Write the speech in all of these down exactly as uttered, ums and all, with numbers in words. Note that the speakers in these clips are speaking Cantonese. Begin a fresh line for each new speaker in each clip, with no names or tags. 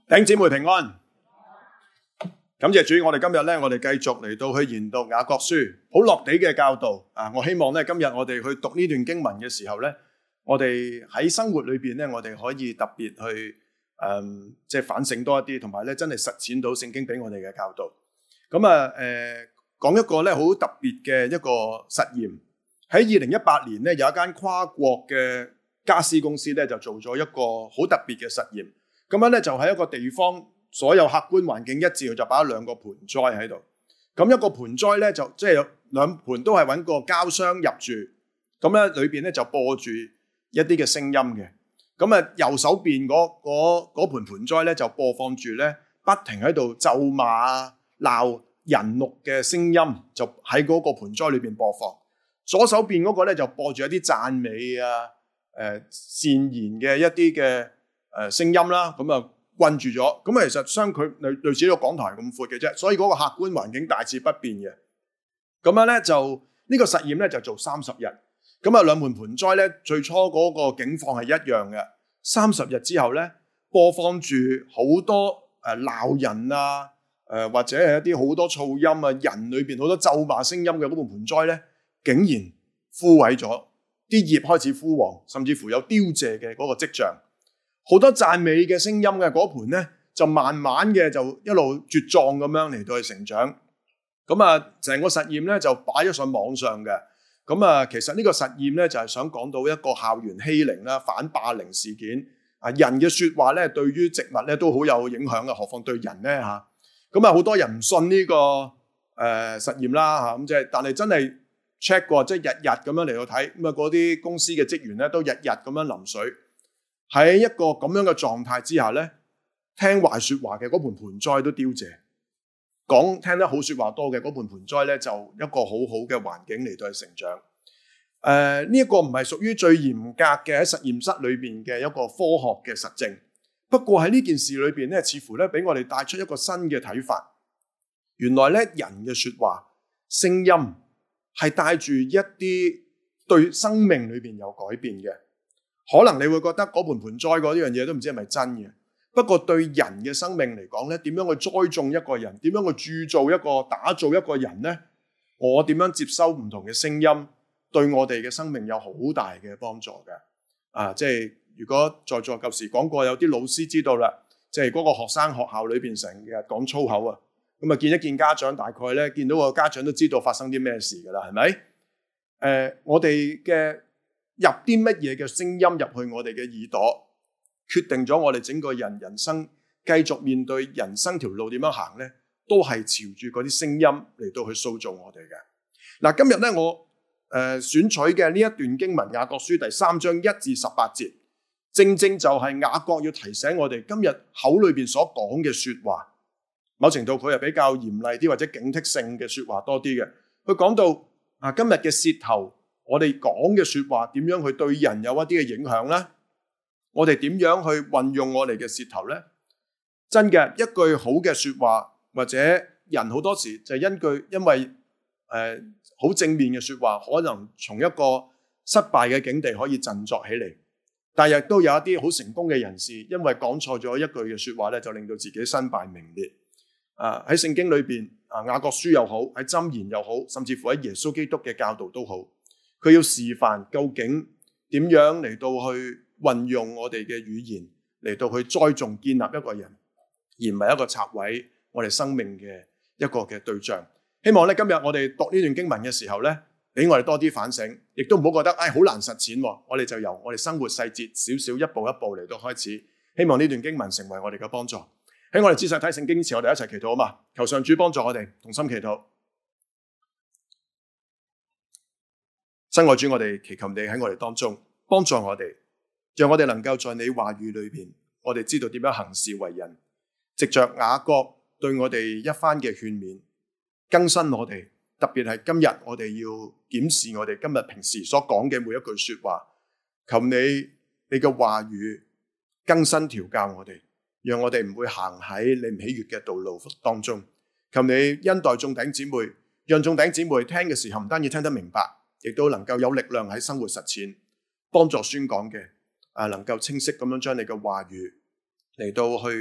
弟兄姊妹平安，感謝主。我哋今日咧，我哋繼續嚟到去研讀雅各書，好落地嘅教導啊！我希望咧，今日我哋去讀呢段經文嘅時候咧，我哋喺生活裏邊咧，我哋可以特別去誒，即係反省多一啲，同埋咧真係實踐到聖經俾我哋嘅教導。咁啊，誒，講一個咧好特別嘅一個實驗。喺二零一八年咧，有一間跨國嘅家私公司咧，就做咗一個好特別嘅實驗。咁樣咧就喺一個地方，所有客觀環境一致，就擺咗兩個盆栽喺度。咁一個盆栽咧就即係有兩盆都係揾個膠箱入住。咁咧裏邊咧就播住一啲嘅聲音嘅。咁啊右手邊嗰嗰嗰盆盆栽咧就播放住咧不停喺度咒罵鬧人怒嘅聲音，就喺嗰個盆栽裏邊播放。左手邊嗰個咧就播住一啲讚美啊、誒、呃、善言嘅一啲嘅誒聲音啦，咁啊困住咗。咁啊其實相距類類似一個講台咁闊嘅啫，所以嗰個客觀環境大致不變嘅。咁樣咧就呢個實驗咧就做三十日。咁啊兩盆盆栽咧最初嗰個景況係一樣嘅，三十日之後咧播放住好多誒鬧人啊、誒或者係一啲好多噪音啊、人裏邊好多咒罵聲音嘅嗰盆盆栽咧，竟然枯萎咗，啲葉開始枯黃，甚至乎有凋謝嘅嗰個跡象。好多讚美嘅聲音嘅嗰盆咧，就慢慢嘅就一路茁壯咁樣嚟到去成長。咁啊，成個實驗咧就擺咗上網上嘅。咁啊，其實呢個實驗咧就係想講到一個校園欺凌啦、反霸凌事件。啊，人嘅説話咧對於植物咧都好有影響嘅，何況對人咧嚇。咁啊，好多人唔信呢個誒實驗啦嚇。咁即係，但係真係 check 過，即係日日咁樣嚟到睇。咁啊，嗰啲公司嘅職員咧都日日咁樣淋水。喺一個咁樣嘅狀態之下咧，聽壞説話嘅嗰盆盆栽都凋謝，講聽得好説話多嘅嗰盆盆栽咧，就一個好好嘅環境嚟到去成長。誒呢一個唔係屬於最嚴格嘅喺實驗室裏邊嘅一個科學嘅實證，不過喺呢件事裏邊咧，似乎咧俾我哋帶出一個新嘅睇法。原來咧人嘅説話聲音係帶住一啲對生命裏邊有改變嘅。可能你會覺得嗰盆盆栽嗰樣嘢都唔知係咪真嘅，不過對人嘅生命嚟講咧，點樣去栽種一個人，點樣去鑄造一個、打造一個人呢？我點樣接收唔同嘅聲音，對我哋嘅生命有好大嘅幫助嘅。啊，即係如果在座舊時講過，有啲老師知道啦，即係嗰個學生學校裏邊成日講粗口啊，咁啊見一見家長，大概咧見到個家長都知道發生啲咩事噶啦，係咪？誒、呃，我哋嘅入啲乜嘢嘅聲音入去我哋嘅耳朵，決定咗我哋整個人人生繼續面對人生條路點樣行呢？都係朝住嗰啲聲音嚟到去塑造我哋嘅。嗱，今日咧我誒、呃、選取嘅呢一段經文雅各書第三章一至十八節，正正就係雅各要提醒我哋今日口裏邊所講嘅說話，某程度佢係比較嚴厲啲或者警惕性嘅說話多啲嘅。佢講到啊，今日嘅舌頭，我哋講嘅說話點樣去對人有一啲嘅影響呢？我哋點樣去運用我哋嘅舌頭呢？真嘅，一句好嘅說話，或者人好多時就因句因為誒好、呃、正面嘅說話，可能從一個失敗嘅境地可以振作起嚟。但係亦都有一啲好成功嘅人士，因為講錯咗一句嘅說話咧，就令到自己身敗名裂。啊，喺聖經裏邊啊，雅各書又好，喺箴言又好，甚至乎喺耶穌基督嘅教導都好。佢要示範究竟點樣嚟到去運用我哋嘅語言嚟到去栽種建立一個人，而唔係一個拆毀我哋生命嘅一個嘅對象。希望咧今日我哋讀呢段經文嘅時候咧，俾我哋多啲反省，亦都唔好覺得唉好難實踐。我哋就由我哋生活細節少少一步一步嚟到開始。希望呢段經文成為我哋嘅幫助。喺我哋仔細睇聖經前，我哋一齊祈禱啊嘛！求上主幫助我哋，同心祈禱。親愛主，我哋祈求你喺我哋當中幫助我哋，讓我哋能夠在你話語裏邊，我哋知道點樣行事為人。藉着雅各對我哋一番嘅勸勉，更新我哋，特別係今日我哋要檢視我哋今日平時所講嘅每一句說話。求你你嘅話語更新調教我哋，讓我哋唔會行喺你唔喜悅嘅道路當中。求你恩待眾弟兄姊妹，讓眾弟兄姊妹聽嘅時候唔單止聽得明白，亦都能夠有力量喺生活實踐，幫助宣講嘅啊，能夠清晰咁樣將你嘅話語嚟到去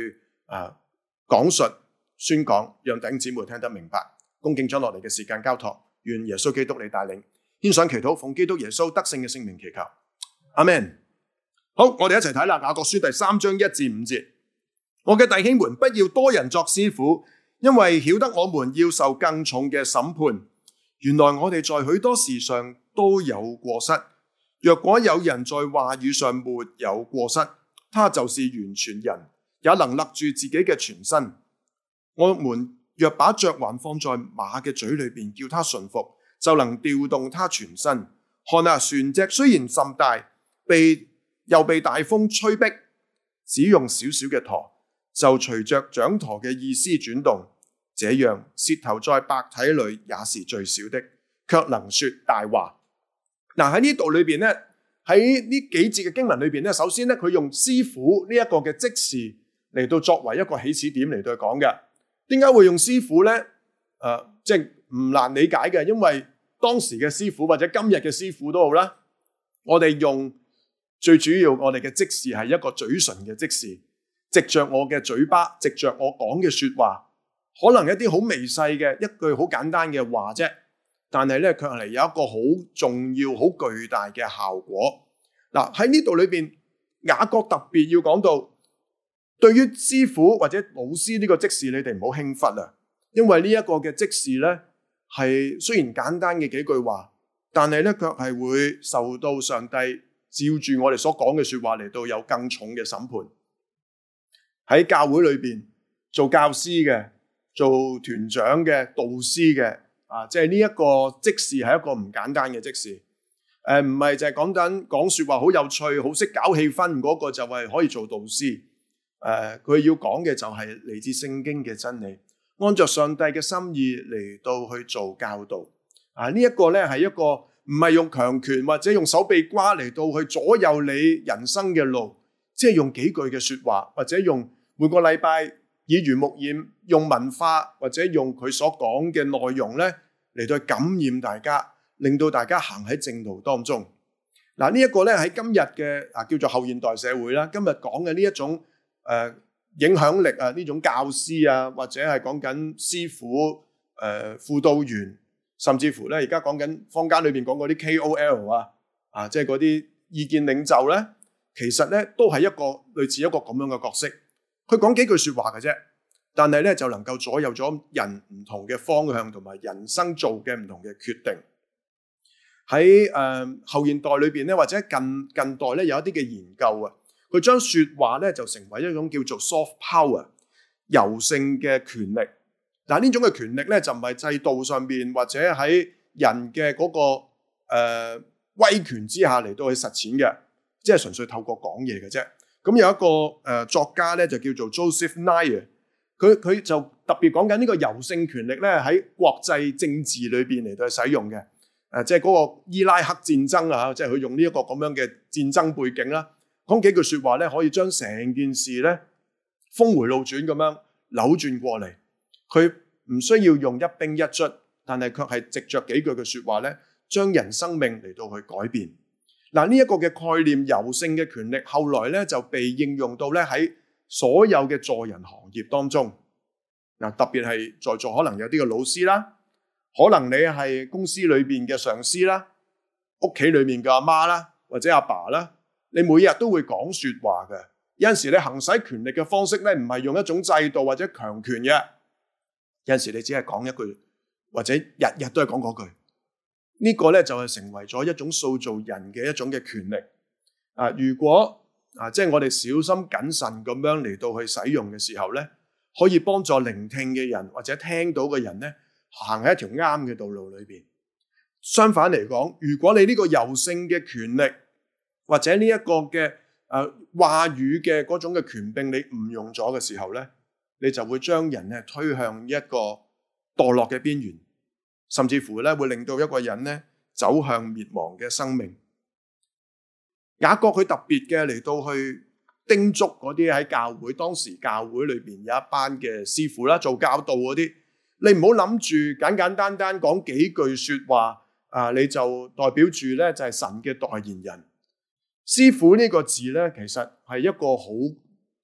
啊講述宣講，讓弟兄姊妹聽得明白。恭敬將落嚟嘅時間交託，願耶穌基督你帶領，獻上祈禱，奉基督耶穌得勝嘅聖名祈求，阿們。好，我哋一齊睇啦，雅各書第三章一至五節。我嘅弟兄們，不要多人作師傅，因為曉得我們要受更重嘅審判。原來我哋在許多事上都有過失。若果有人在話語上沒有過失，他就是完全人，也能勒住自己嘅全身。我們若把嚼環放在馬嘅嘴裏邊，叫他順服，就能調動他全身。看啊，船隻雖然甚大，被又被大風吹逼，只用小小嘅舵，就隨着掌舵嘅意思轉動。這樣，舌頭在百體裏也是最小的，卻能說大話。嗱，喺呢度裏邊咧，喺呢幾節嘅經文裏邊咧，首先咧佢用師傅呢一個嘅職事嚟到作為一個起始點嚟到講嘅。點解會用師傅咧？誒、呃，即係唔難理解嘅，因為當時嘅師傅或者今日嘅師傅都好啦，我哋用最主要我哋嘅職事係一個嘴唇嘅職事，藉着我嘅嘴巴，藉着我講嘅說話，可能一啲好微細嘅一句好簡單嘅話啫，但係咧卻係有一個好重要、好巨大嘅效果。嗱，喺呢度裏邊，雅各特別要講到，對於師傅或者老師呢個職事，你哋唔好輕忽啊，因為呢一個嘅職事咧係雖然簡單嘅幾句話，但係咧卻係會受到上帝照住我哋所講嘅說話嚟到有更重嘅審判。喺教會裏邊做教師嘅、做團長嘅、導師嘅啊，即係呢一個職事係一個唔簡單嘅職事。誒，唔係就係講緊講說話好有趣、好識搞氣氛嗰個就係可以做導師。誒，佢要講嘅就係嚟自聖經嘅真理，按照上帝嘅心意嚟到去做教導。啊，呢一個咧係一個唔係用強權或者用手臂瓜嚟到去左右你人生嘅路，即係用幾句嘅說話，或者用每個禮拜耳濡目染，用文化或者用佢所講嘅內容咧嚟到去感染大家，令到大家行喺正路當中。嗱，呢一個咧喺今日嘅啊叫做後現代社會啦，今日講嘅呢一種誒、呃、影響力啊，呢種教師啊，或者係講緊師傅、誒、呃、輔導員，甚至乎咧而家講緊坊間裏邊講嗰啲 K O L 啊，啊即係嗰啲意見領袖咧，其實咧都係一個類似一個咁樣嘅角色。佢講幾句說話嘅啫，但係咧就能夠左右咗人唔同嘅方向同埋人生做嘅唔同嘅決定。喺誒、呃、後現代裏邊咧，或者近近代咧有一啲嘅研究啊，佢將說話咧就成為一種叫做 soft power 柔性嘅權力。但係呢種嘅權力咧就唔係制度上邊或者喺人嘅嗰、那個誒、呃、威權之下嚟到去實踐嘅，即係純粹透過講嘢嘅啫。咁有一個誒、呃、作家咧就叫做 Joseph Nye， 佢佢就特別講緊呢個柔性權力咧喺國際政治裏邊嚟到去使用嘅。誒，即係嗰個伊拉克戰爭啊，即係佢用呢一個咁樣嘅戰爭背景啦，講幾句說話咧，可以將成件事咧峰回路轉咁樣扭轉過嚟。佢唔需要用一兵一卒，但係卻係藉着幾句嘅說話咧，將人生命嚟到去改變。嗱，呢一個嘅概念，柔性嘅權力，後來咧就被應用到咧喺所有嘅助人行業當中。嗱，特別係在座可能有啲嘅老師啦。可能你係公司裏邊嘅上司啦，屋企裏面嘅阿媽啦，或者阿爸啦，你每日都會講說話嘅。有陣時你行使權力嘅方式咧，唔係用一種制度或者強權嘅。有陣時你只係講一句，或者日日都係講嗰句。呢個咧就係成為咗一種塑造人嘅一種嘅權力。啊，如果啊，即係我哋小心謹慎咁樣嚟到去使用嘅時候咧，可以幫助聆聽嘅人或者聽到嘅人咧，行喺一條啱嘅道路裏邊。相反嚟講，如果你呢個柔性嘅權力或者呢一個嘅誒話語嘅嗰種嘅權柄，你誤用咗嘅時候咧，你就會將人咧推向一個墮落嘅邊緣，甚至乎咧會令到一個人咧走向滅亡嘅生命。雅各佢特別嘅嚟到去叮囑嗰啲喺教會，當時教會裏邊有一班嘅師傅啦，做教導嗰啲。你唔好諗住簡簡單單講幾句說話啊，你就代表住咧就係神嘅代言人。師傅呢個字咧，其實係一個好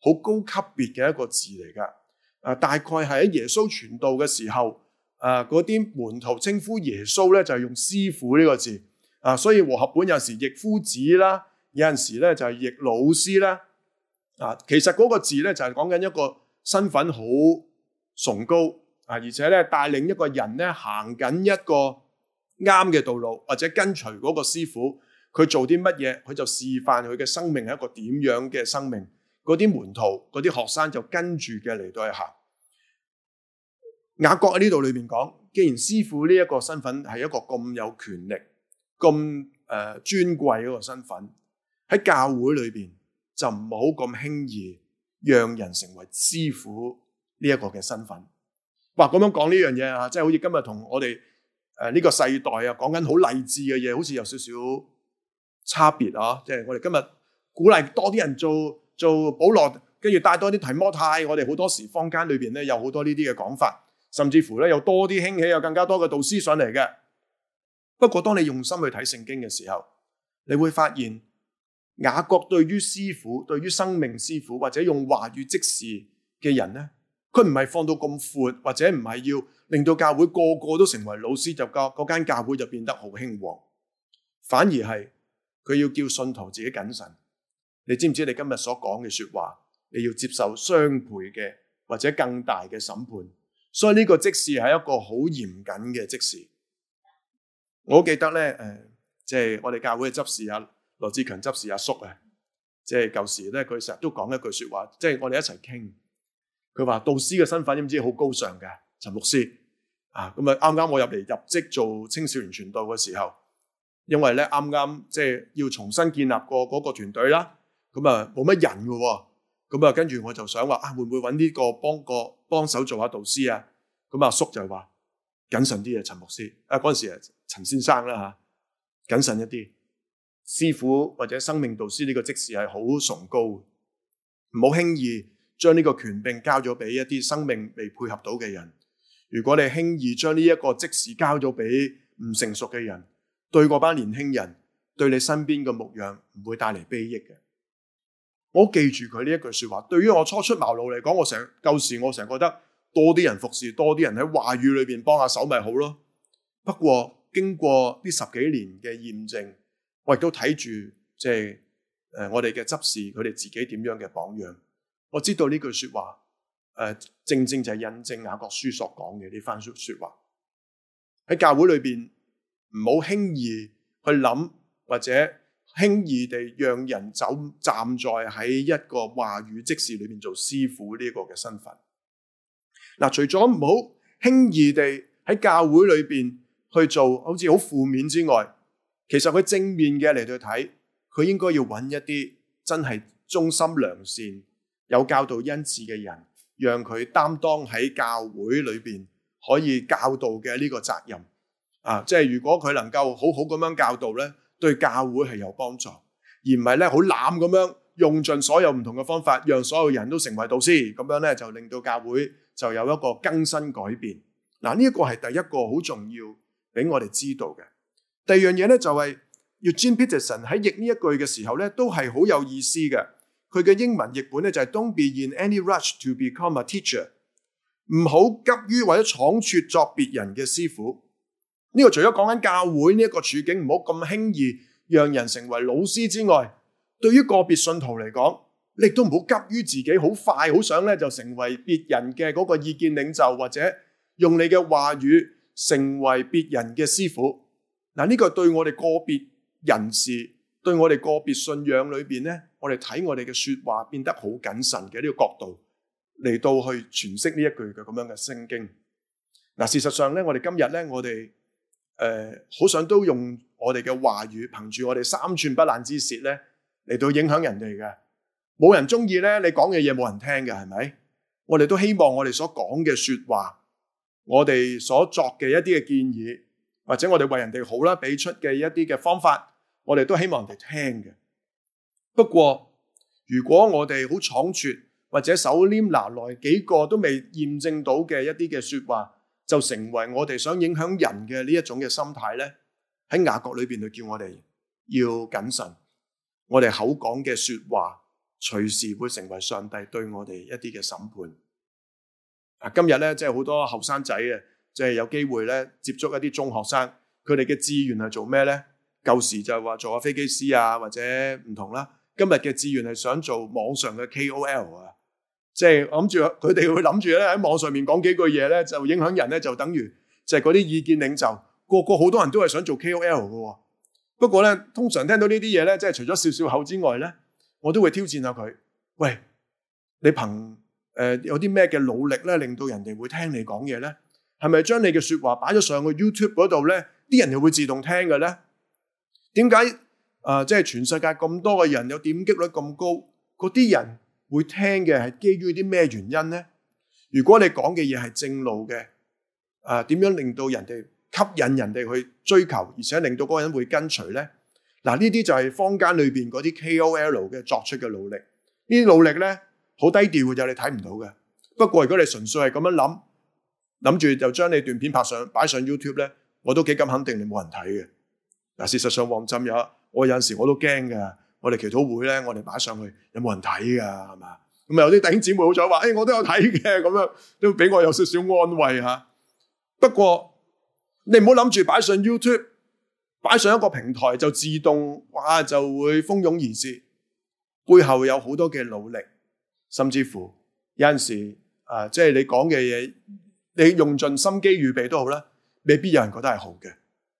好高級別嘅一個字嚟㗎。啊，大概係喺耶穌傳道嘅時候，啊嗰啲門徒稱呼耶穌咧就係用師傅呢個字。啊，所以和合本有時譯夫子啦，有陣時咧就係譯老師啦。啊，其實嗰個字咧就係講緊一個身份好崇高啊，而且咧帶領一個人咧行緊一個啱嘅道路，或者跟隨嗰個師傅，佢做啲乜嘢，佢就示範佢嘅生命係一個點樣嘅生命。嗰啲門徒、嗰啲學生就跟住嘅嚟到去行。雅各喺呢度裏面講，既然師傅呢一個身份係一個咁有權力、咁誒、呃、尊貴嗰個身份，喺教會裏邊就唔好咁輕易讓人成為師傅呢一個嘅身份。哇，咁樣講呢樣嘢啊，即係好似今日同我哋誒呢個世代啊講緊好勵志嘅嘢，好似有少少差別啊！即係我哋今日鼓勵多啲人做做保羅，跟住帶多啲提摩太。我哋好多時坊間裏邊咧有好多呢啲嘅講法，甚至乎咧有多啲興起，有更加多嘅導師上嚟嘅。不過當你用心去睇聖經嘅時候，你會發現雅各對於師傅、對於生命師傅或者用話語即時嘅人咧，佢唔係放到咁闊，或者唔係要令到教會個個都成為老師，就教嗰間教會就變得好興旺。反而係佢要叫信徒自己謹慎。你知唔知你今日所講嘅說話，你要接受雙倍嘅或者更大嘅審判。所以呢個職事係一個好嚴謹嘅職事。我記得咧，誒，即係我哋教會嘅執事啊，羅志強執事阿叔啊，即係舊時咧，佢成日都講一句說話，即係我哋一齊傾。佢話導師嘅身份，知唔知好高尚嘅？陳牧師啊，咁啊啱啱我入嚟入職做青少年傳道嘅時候，因為咧啱啱即係要重新建立過嗰個團隊啦，咁啊冇乜人嘅，咁啊跟住我就想話啊，會唔會揾呢個幫個幫手做下導師啊？咁阿叔就話謹慎啲啊，陳牧師啊，嗰陣時啊陳先生啦吓，謹慎一啲，師傅或者生命導師呢個職事係好崇高，唔好輕易將呢個權柄交咗俾一啲生命未配合到嘅人。如果你輕易將呢一個職事交咗俾唔成熟嘅人，對嗰班年輕人，對你身邊嘅牧養唔會帶嚟裨益嘅。我記住佢呢一句說話。對於我初出茅廬嚟講，我成舊時我成日覺得多啲人服侍，多啲人喺話語裏邊幫下手咪好咯。不過經過呢十幾年嘅驗證，我亦都睇住即係誒我哋嘅執事佢哋自己點樣嘅榜樣。我知道呢句說話，誒、呃，正正就係印證雅各書所講嘅呢番說說話。喺教會裏邊，唔好輕易去諗，或者輕易地讓人走站在喺一個話語職事裏面做師傅呢個嘅身份。嗱，除咗唔好輕易地喺教會裏邊去做，好似好負面之外，其實佢正面嘅嚟到睇，佢應該要揾一啲真係忠心良善，有教導恩賜嘅人，讓佢擔當喺教會裏邊可以教導嘅呢個責任啊！即係如果佢能夠好好咁樣教導咧，對教會係有幫助，而唔係咧好濫咁樣用盡所有唔同嘅方法，讓所有人都成為導師，咁樣咧就令到教會就有一個更新改變。嗱，呢一個係第一個好重要俾我哋知道嘅。第二樣嘢咧就係 Eugene Peterson 喺譯呢一句嘅時候咧，都係好有意思嘅。佢嘅英文譯本咧就係 Don't be in any rush to become a teacher， 唔好急於或者倉促作別人嘅師傅。呢個除咗講緊教會呢一個處境，唔好咁輕易讓人成為老師之外，對於個別信徒嚟講，你亦都唔好急於自己好快好想咧就成為別人嘅嗰個意見領袖，或者用你嘅話語成為別人嘅師傅。嗱，呢個對我哋個別人士，對我哋個別信仰裏邊咧，我哋睇我哋嘅說話變得好謹慎嘅呢個角度嚟到去詮釋呢一句嘅咁樣嘅聖經。嗱，事實上咧，我哋今日咧，我哋誒好想都用我哋嘅話語，憑住我哋三寸不爛之舌咧嚟到影響人哋嘅。冇人中意咧，你講嘅嘢冇人聽嘅，係咪？我哋都希望我哋所講嘅說話，我哋所作嘅一啲嘅建議，或者我哋為人哋好啦，俾出嘅一啲嘅方法，我哋都希望人哋聽嘅。不過如果我哋好倉促，或者手拈拿來幾個都未驗證到嘅一啲嘅說話，就成為我哋想影響人嘅呢一種嘅心態咧，喺雅各裏邊就叫我哋要謹慎，我哋口講嘅說話隨時會成為上帝對我哋一啲嘅審判。啊，今日咧即係好多後生仔啊，即係有機會咧接觸一啲中學生，佢哋嘅志願係做咩咧？舊時就係話做下飛機師啊，或者唔同啦。今日嘅志願係想做網上嘅 K O L 啊，即係我諗住佢哋會諗住咧喺網上面講幾句嘢咧，就影響人咧，就等於就係嗰啲意見領袖，個個好多人都係想做 K O L 嘅。不過咧，通常聽到呢啲嘢咧，即係除咗笑笑口之外咧，我都會挑戰下佢。喂，你憑誒、呃、有啲咩嘅努力咧，令到人哋會聽你講嘢咧？係咪將你嘅說話擺咗上去 YouTube 嗰度咧，啲人就會自動聽嘅咧？點解誒即係全世界咁多嘅人有點擊率咁高，嗰啲人會聽嘅係基於啲咩原因咧？如果你講嘅嘢係正路嘅，誒、呃、點樣令到人哋吸引人哋去追求，而且令到嗰個人會跟隨咧？嗱，呢啲就係坊間裏邊嗰啲 K O L 嘅作出嘅努力。呢啲努力咧好低調嘅，就你睇唔到嘅。不過如果你純粹係咁樣諗，諗住就將你段片拍上擺上 YouTube 咧，我都幾咁肯定你冇人睇嘅。嗱，事實上旺浸有，我有陣時我都驚㗎。我哋祈禱會咧，我哋擺上去有冇人睇㗎？係嘛？咁有啲弟兄姊妹好彩話，誒、哎、我都有睇嘅，咁樣都俾我有少少安慰嚇。不過你唔好諗住擺上 YouTube， 擺上一個平台就自動哇就會蜂擁而至，背後有好多嘅努力，甚至乎有陣時啊，即係你講嘅嘢，你用盡心機預備都好啦，未必有人覺得係好嘅。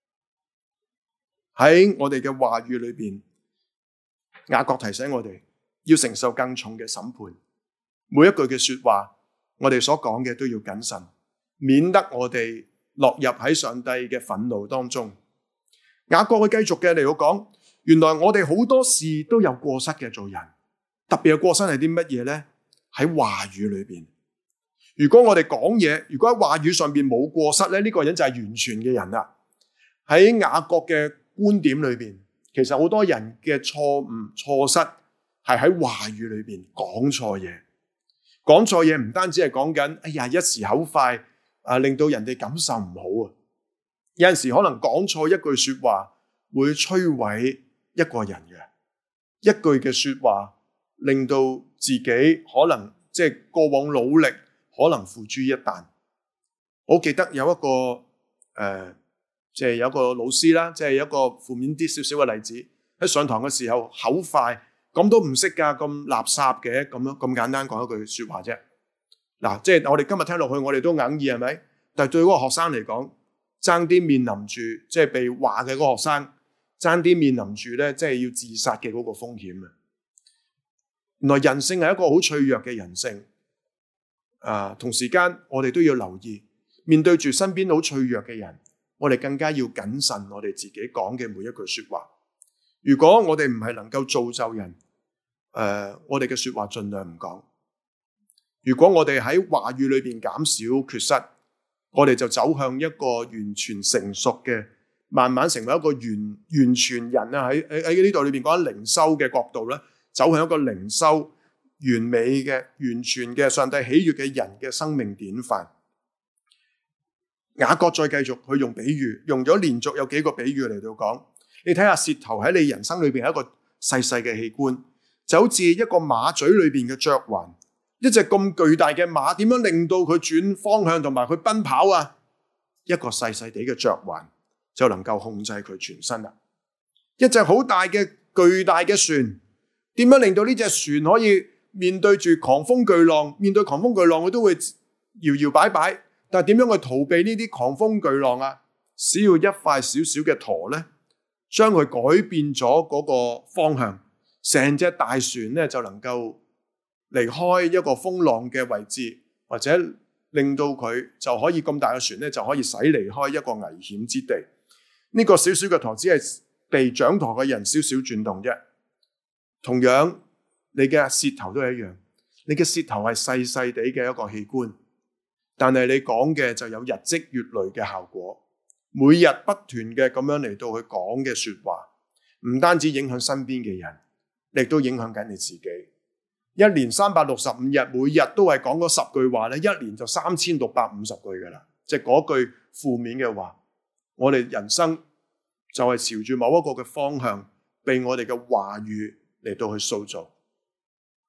喺我哋嘅話語裏邊，雅各提醒我哋要承受更重嘅審判。每一句嘅說話，我哋所講嘅都要謹慎，免得我哋落入喺上帝嘅憤怒當中。雅各佢繼續嘅嚟到講，原來我哋好多事都有過失嘅做人，特別嘅過失係啲乜嘢呢？喺話語裏邊。如果我哋講嘢，如果喺話語上邊冇過失咧，呢、這個人就係完全嘅人啦。喺雅各嘅觀點裏邊，其實好多人嘅錯誤錯失係喺話語裏邊講錯嘢，講錯嘢唔單止係講緊，哎呀一時口快啊，令到人哋感受唔好啊。有陣時可能講錯一句說話會摧毀一個人嘅，一句嘅說話令到自己可能即係過往努力可能付諸一旦。我記得有一個誒。呃即係有一個老師啦，即係有一個負面啲少少嘅例子，喺上堂嘅時候口快，咁都唔識㗎，咁垃圾嘅，咁樣咁簡單講一句說話啫。嗱，即係我哋今日聽落去，我哋都硬耳係咪？但係對嗰個學生嚟講，爭啲面臨住即係被話嘅嗰個學生，爭啲面臨住咧，即係要自殺嘅嗰個風險啊！原來人性係一個好脆弱嘅人性，啊，同時間我哋都要留意，面對住身邊好脆弱嘅人。我哋更加要謹慎我哋自己講嘅每一句說話。如果我哋唔係能夠造就人，誒、呃，我哋嘅說話盡量唔講。如果我哋喺話語裏邊減少缺失，我哋就走向一個完全成熟嘅，慢慢成為一個完完全人啊！喺喺喺呢度裏邊講緊靈修嘅角度咧，走向一個靈修完美嘅、完全嘅上帝喜悅嘅人嘅生命典範。雅各再繼續去用比喻，用咗連續有幾個比喻嚟到講。你睇下舌頭喺你人生裏邊係一個細細嘅器官，就好似一個馬嘴裏邊嘅嚼環。一隻咁巨大嘅馬，點樣令到佢轉方向同埋佢奔跑啊？一個細細地嘅嚼環就能夠控制佢全身啦。一隻好大嘅巨大嘅船，點樣令到呢隻船可以面對住狂風巨浪？面對狂風巨浪，佢都會搖搖擺擺。但係點樣去逃避呢啲狂風巨浪啊？只要一塊小小嘅舵咧，將佢改變咗嗰個方向，成隻大船咧就能夠離開一個風浪嘅位置，或者令到佢就可以咁大嘅船咧就可以駛離開一個危險之地。呢、這個小小嘅舵只係被掌舵嘅人少少轉動啫。同樣，你嘅舌頭都係一樣，你嘅舌頭係細細地嘅一個器官。但係你講嘅就有日積月累嘅效果，每日不斷嘅咁樣嚟到去講嘅說話，唔單止影響身邊嘅人，亦都影響緊你自己。一年三百六十五日，每日都係講嗰十句話咧，一年就三千六百五十句噶啦，即係嗰句負面嘅話。我哋人生就係朝住某一個嘅方向，被我哋嘅話語嚟到去塑造。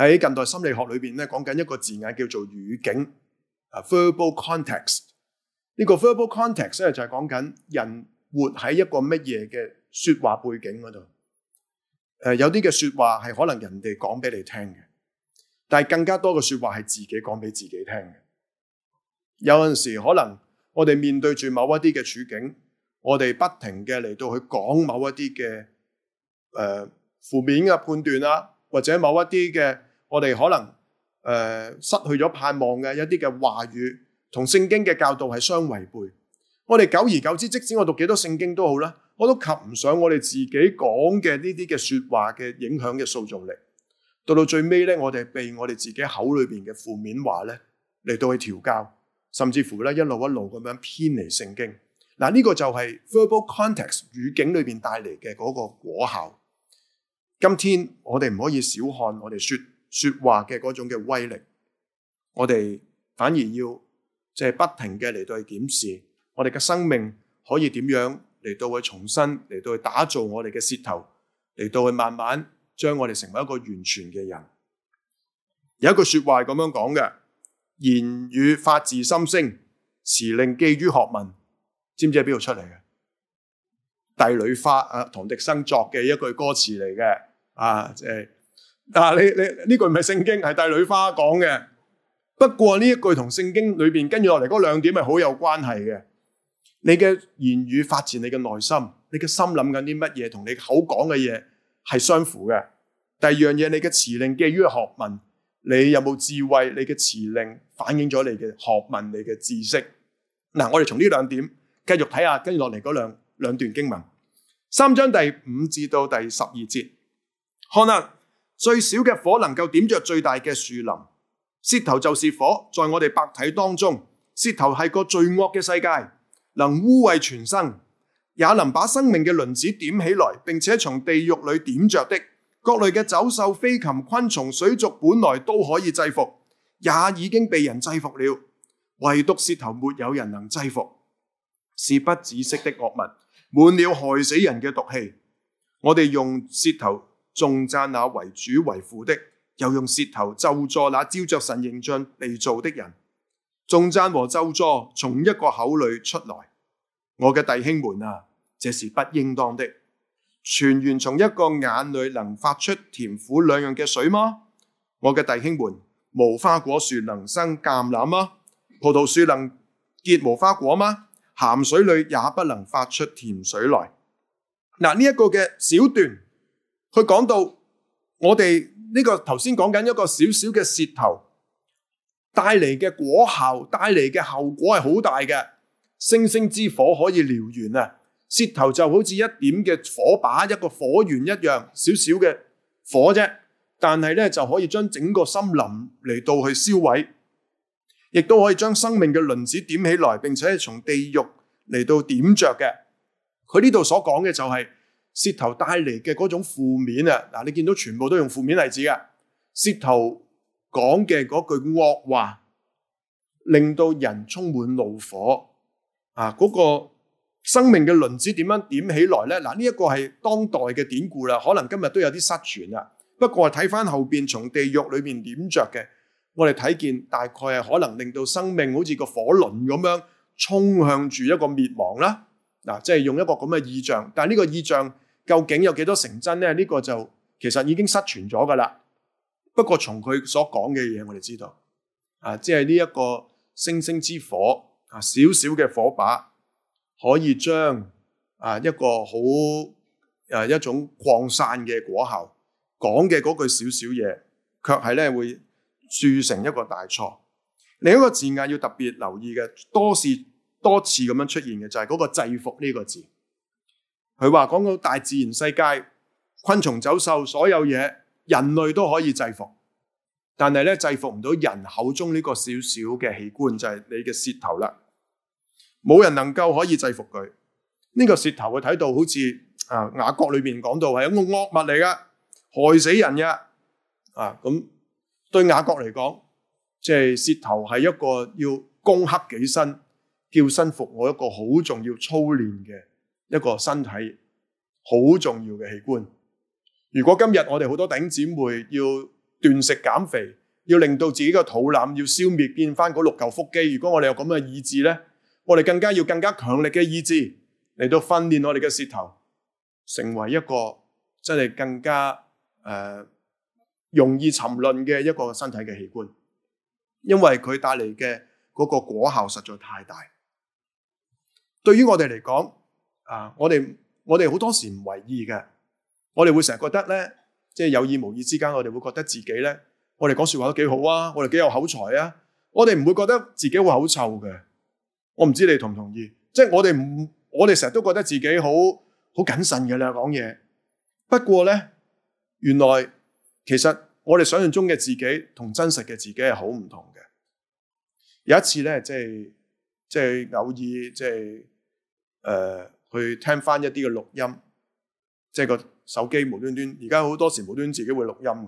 喺近代心理學裏邊咧，講緊一個字眼叫做語境啊 verbal context。呢個 verbal context 咧就係講緊人活喺一個乜嘢嘅說話背景嗰度。誒，有啲嘅說話係可能人哋講俾你聽嘅，但係更加多嘅說話係自己講俾自己聽嘅。有陣時可能我哋面對住某一啲嘅處境，我哋不停嘅嚟到去講某一啲嘅誒負面嘅判斷啦，或者某一啲嘅我哋可能誒、呃、失去咗盼望嘅一啲嘅話語，同聖經嘅教導係相違背。我哋久而久之，即使我讀幾多聖經都好啦，我都及唔上我哋自己講嘅呢啲嘅說話嘅影響嘅塑造力。到到最尾咧，我哋被我哋自己口裏邊嘅負面話咧嚟到去調教，甚至乎咧一路一路咁樣偏離聖經。嗱，呢個就係 verbal context 語境裏邊帶嚟嘅嗰個果效。今天我哋唔可以小看我哋說說話嘅嗰種嘅威力，我哋反而要即係不停嘅嚟到去檢視我哋嘅生命可以點樣嚟到去重新嚟到去打造我哋嘅舌頭，嚟到去慢慢將我哋成為一個完全嘅人。有一句說話係咁樣講嘅：言語發自心聲，辭令寄於學問。知唔知喺邊度出嚟嘅？帝女花啊，唐滌生作嘅一句歌詞嚟嘅啊，即係啊，你你呢句唔係聖經，係帝女花講嘅。不過呢一句同聖經裏邊跟住落嚟嗰兩點係好有關係嘅。你嘅言語發自你嘅內心，你嘅心諗緊啲乜嘢，同你口講嘅嘢係相符嘅。第二樣嘢，你嘅辭令寄於學問，你有冇智慧？你嘅辭令反映咗你嘅學問，你嘅知識。嗱、啊，我哋從呢兩點繼續睇下，跟住落嚟嗰兩兩段經文，三章第五至到第十二節。看啊，最小嘅火能夠點着最大嘅樹林，舌頭就是火，在我哋百體當中，舌頭係個罪惡嘅世界。能污穢全身，也能把生命嘅輪子點起來，並且從地獄裏點着的各類嘅走獸、飛禽、昆蟲、水族，本來都可以制服，也已經被人制服了，唯獨舌頭沒有人能制服，是不止息的惡物，滿了害死人嘅毒氣。我哋用舌頭頌讚那為主為父的，又用舌頭咒詛那照着神形象被造的人。頌讚和咒詛從一個口裏出來，我嘅弟兄們啊，這是不應當的。泉源從一個眼裏能發出甜苦兩樣嘅水嗎？我嘅弟兄們，無花果樹能生橄欖嗎？葡萄樹能結無花果嗎？鹹水裏也不能發出甜水來。嗱，呢一個嘅小段，佢講到我哋呢個頭先講緊一個小小嘅舌頭帶嚟嘅果效，帶嚟嘅後果係好大嘅。星星之火可以燎原啊！舌頭就好似一點嘅火把，一個火源一樣，少少嘅火啫。但係咧就可以將整個森林嚟到去燒毀，亦都可以將生命嘅輪子點起來，並且從地獄嚟到點着嘅。佢呢度所講嘅就係舌頭帶嚟嘅嗰種負面啊！嗱，你見到全部都用負面例子嘅舌頭。講嘅嗰句惡話，令到人充滿怒火啊！嗰、那個生命嘅輪子點樣點起來呢？嗱，呢一個係當代嘅典故啦，可能今日都有啲失傳啦。不過睇翻後邊從地獄裏面點着嘅，我哋睇見大概係可能令到生命好似個火輪咁樣衝向住一個滅亡啦。嗱、啊，即係用一個咁嘅意象，但係呢個意象究竟有幾多成真呢？呢、這個就其實已經失傳咗噶啦。不過從佢所講嘅嘢，我哋知道，啊，即係呢一個星星之火，啊，小小嘅火把，可以將啊一個好誒一種擴散嘅果效，講嘅嗰句少少嘢，卻係咧會鑄成一個大錯。另一個字眼要特別留意嘅，多次多次咁樣出現嘅就係嗰個制服呢個字。佢話講到大自然世界，昆蟲走獸，所有嘢。人類都可以制服，但係咧制服唔到人口中呢個小小嘅器官，就係你嘅舌頭啦。冇人能夠可以制服佢。呢個舌頭會睇到好似啊雅各裏面講到係一個惡物嚟噶，害死人嘅啊。咁對雅各嚟講，即係舌頭係一個要攻克己身、叫身服我一個好重要操練嘅一個身體，好重要嘅器官。如果今日我哋好多弟兄姊妹要斷食減肥，要令到自己嘅肚腩要消滅，變翻嗰六嚿腹肌。如果我哋有咁嘅意志咧，我哋更加要更加強力嘅意志嚟到訓練我哋嘅舌頭，成為一個真係更加誒、呃、容易沉淪嘅一個身體嘅器官，因為佢帶嚟嘅嗰個果效實在太大。對於我哋嚟講，啊，我哋我哋好多時唔為意嘅，我哋會成日覺得咧，即係有意無意之間，我哋會覺得自己咧，我哋講說話都幾好啊，我哋幾有口才啊，我哋唔會覺得自己好口臭嘅。我唔知你同唔同意？即係我哋唔，我哋成日都覺得自己好好謹慎嘅啦，講嘢。不過咧，原來其實我哋想象中嘅自己同真實嘅自己係好唔同嘅。有一次咧，即係即係偶爾即係誒去聽翻一啲嘅錄音，即係個手機無端端，而家好多時無端端自己會錄音，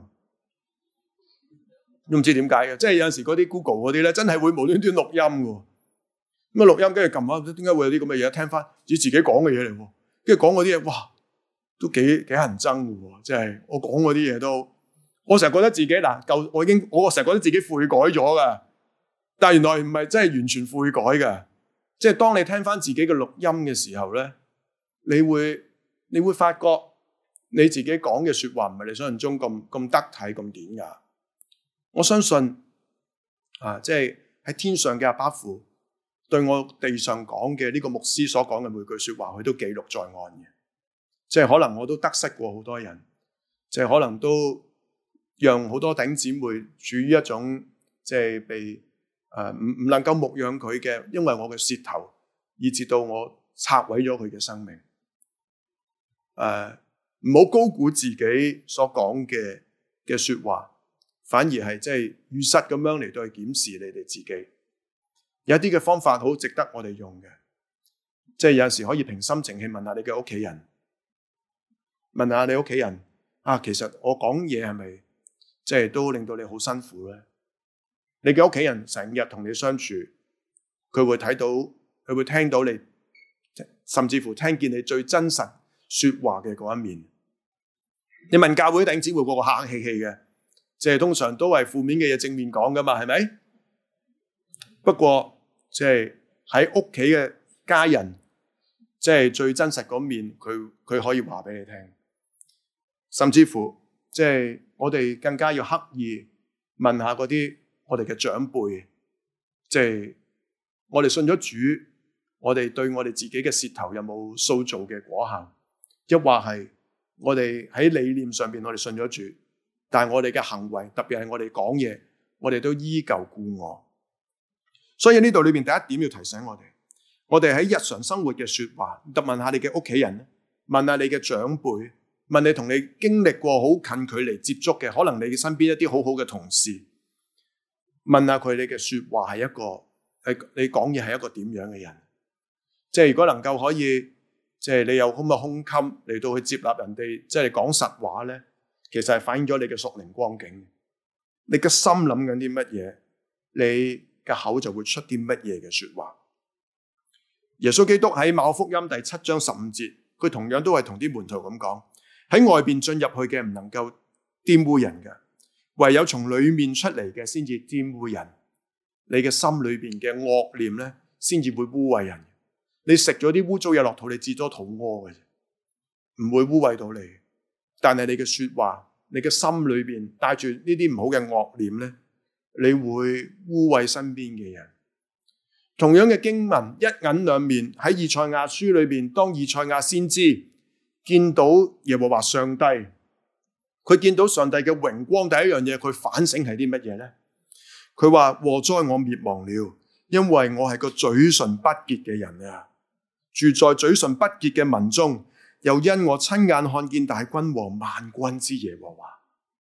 都唔知點解嘅。即係有陣時嗰啲 Google 嗰啲咧，真係會無端端錄音嘅。咁啊錄音跟住撳下，點解會有啲咁嘅嘢？聽翻自己講嘅嘢嚟喎，跟住講嗰啲嘢，哇，都幾幾乞人憎嘅喎！即係我講嗰啲嘢都，我成日覺得自己嗱舊，我已經我成日覺得自己悔改咗嘅，但係原來唔係真係完全悔改嘅。即係當你聽翻自己嘅錄音嘅時候咧，你會你會發覺你自己講嘅説話唔係你想象中咁咁得體咁典雅。我相信啊，即係喺天上嘅阿爸父，對我地上講嘅呢個牧師所講嘅每句說話，佢都記錄在案嘅。即係可能我都得失過好多人，即係可能都讓好多弟兄姊妹處於一種即係被誒唔唔能夠牧養佢嘅，因為我嘅舌頭，以致到我拆毀咗佢嘅生命。誒，唔好高估自己所講嘅嘅說話，反而係即係如實咁樣嚟到去檢視你哋自己。有啲嘅方法好值得我哋用嘅，即係有陣時可以平心靜氣問下你嘅屋企人，問下你屋企人啊，其實我講嘢係咪即係都令到你好辛苦咧？你嘅屋企人成日同你相處，佢會睇到，佢會聽到你，甚至乎聽見你最真實說話嘅嗰一面。你問教會弟兄姊妹個個客客氣氣嘅，即係通常都係負面嘅嘢正面講噶嘛，係咪？不過即係喺屋企嘅家人，即係最真實嗰面，佢佢可以話俾你聽。甚至乎即係我哋更加要刻意問下嗰啲我哋嘅長輩，即係我哋信咗主，我哋對我哋自己嘅舌頭有冇塑造嘅果效？抑或係我哋喺理念上邊我哋信咗主，但係我哋嘅行為，特別係我哋講嘢，我哋都依舊故我。所以呢度裏邊第一點要提醒我哋，我哋喺日常生活嘅說話，特問下你嘅屋企人，問下你嘅長輩，問你同你經歷過好近距離接觸嘅，可能你身邊一啲好好嘅同事，問下佢你嘅說話係一個係你講嘢係一個點樣嘅人？即係如果能夠可以，即係你有咁嘅胸襟嚟到去接納人哋，即係講實話咧，其實係反映咗你嘅屬靈光景。你嘅心諗緊啲乜嘢？你嘅口就會出啲乜嘢嘅說話。耶穌基督喺馬可福音第七章十五節，佢同樣都係同啲門徒咁講：喺外邊進入去嘅唔能夠玷污人嘅，唯有從裏面出嚟嘅先至玷污人。你嘅心裏邊嘅惡念咧，先至會污穢人。你食咗啲污糟嘢落肚，你至多肚屙嘅啫，唔會污穢到你。但係你嘅說話，你嘅心裏邊帶住呢啲唔好嘅惡念咧，你會污穢身邊嘅人。同樣嘅經文一銀兩面，喺以賽亞書裏邊，當以賽亞先知見到耶和華上帝，佢見到上帝嘅榮光，第一樣嘢佢反省係啲乜嘢咧？佢話：禍哉我滅亡了，因為我係個嘴唇不潔嘅人啊，住在嘴唇不潔嘅民中，又因我親眼看見大君和萬軍之耶和華。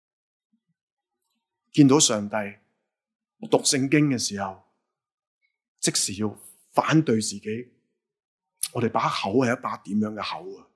見到上帝，讀聖經嘅時候，即時要反對自己。我哋把口係一把點樣嘅口啊？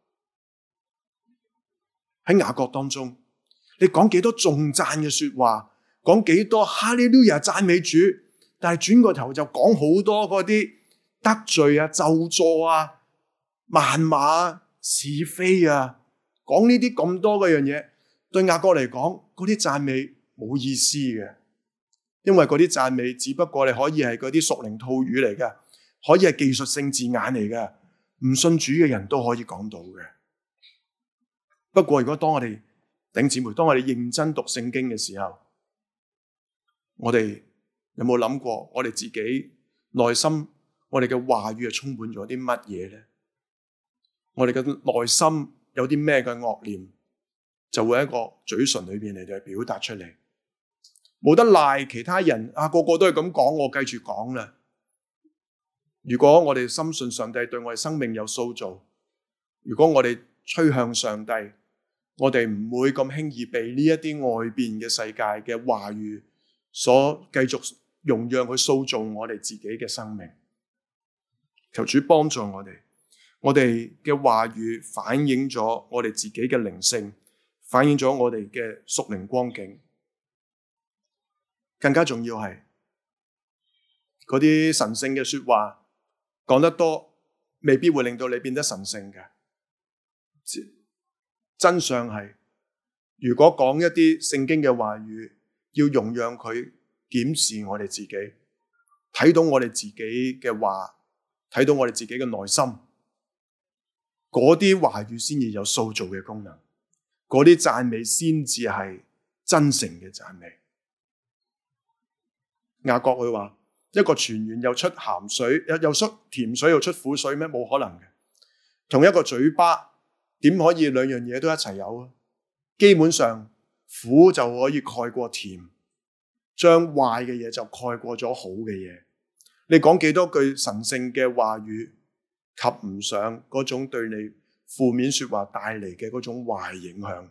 喺雅各當中，你講幾多頌讚嘅說話，講幾多哈利路亞讚美主，但係轉個頭就講好多嗰啲得罪啊、咒詛啊、謾罵、是非啊，講呢啲咁多嗰樣嘢，對雅各嚟講，嗰啲讚美冇冇意思嘅，因為嗰啲讚美只不過你可以係嗰啲屬靈套語嚟嘅，可以係技術性字眼嚟嘅，唔信主嘅人都可以講到嘅。不過如果當我哋弟兄姊妹，當我哋認真讀聖經嘅時候，我哋有冇諗過我哋自己內心，我哋嘅話語係充滿咗啲乜嘢咧？我哋嘅內心有啲咩嘅惡念，就會喺個嘴唇裏邊嚟到表達出嚟。冇得賴其他人啊，個個都係咁講，我繼續講啦。如果我哋深信上帝對我哋生命有塑造，如果我哋趨向上帝，我哋唔會咁輕易被呢一啲外邊嘅世界嘅話語所繼續容讓佢塑造我哋自己嘅生命。求主幫助我哋，我哋嘅話語反映咗我哋自己嘅靈性，反映咗我哋嘅屬靈光景。更加重要係嗰啲神聖嘅說話講得多，未必會令到你變得神聖嘅。真相係，如果講一啲聖經嘅話語，要容讓佢檢視我哋自己，睇到我哋自己嘅話，睇到我哋自己嘅內心，嗰啲話語先至有塑造嘅功能，嗰啲讚美先至係真誠嘅讚美。雅各佢話：一個泉源又出鹹水，又又出甜水又出苦水咩？冇可能嘅。同一個嘴巴點可以兩樣嘢都一齊有啊？基本上苦就可以蓋過甜，將壞嘅嘢就蓋過咗好嘅嘢。你講幾多句神聖嘅話語，及唔上嗰種對你負面說話帶嚟嘅嗰種壞影響。